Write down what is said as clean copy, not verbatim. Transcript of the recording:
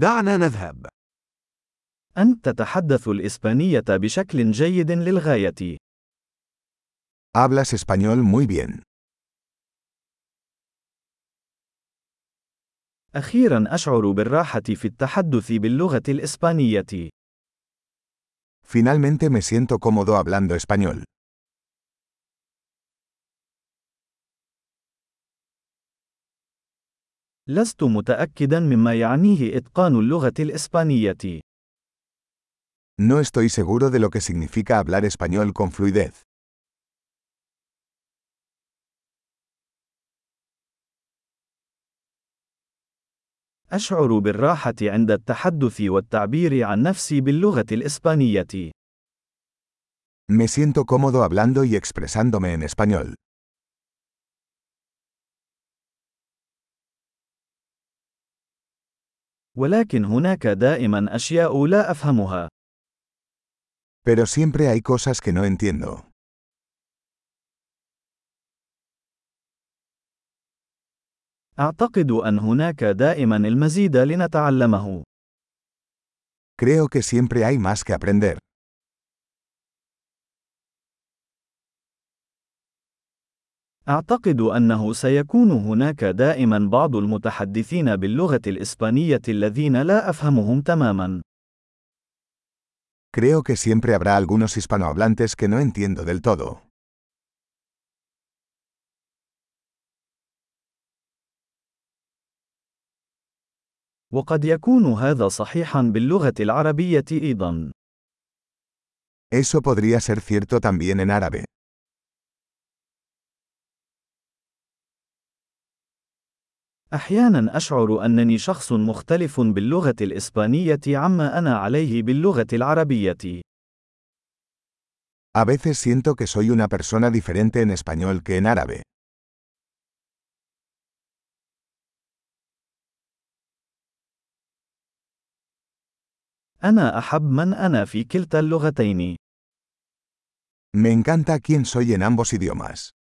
دعنا نذهب. أنت تتحدث الإسبانية بشكل جيد للغاية. Hablas español muy bien. أخيراً أشعر بالراحة في التحدث باللغة الإسبانية. Finalmente me siento cómodo hablando español. لست متأكداً مما يعنيه إتقان اللغة الإسبانية. No estoy seguro de lo que significa hablar español con fluidez. أشعر بالراحة عند التحدث والتعبير عن نفسي باللغة الإسبانية. Me siento cómodo hablando y expresándome en español. ولكن هناك دائماً أشياء لا أفهمها. Pero siempre hay cosas que no entiendo. أعتقد أن هناك دائماً المزيد لنتعلمه. Creo que siempre hay más que aprender. أعتقد أنه سيكون هناك دائماً بعض المتحدثين باللغة الإسبانية الذين لا أفهمهم تماماً. Creo que siempre habrá algunos hispanohablantes que no entiendo del todo. وقد يكون هذا صحيحاً باللغة العربية أيضاً. Eso podría ser cierto también en árabe. أحياناً أشعر أنني شخص مختلف باللغة الإسبانية عما أنا عليه باللغة العربية. A veces siento que soy una persona diferente en español que en árabe. أنا أحب من أنا في كلتا اللغتين. Me encanta quién soy en ambos idiomas.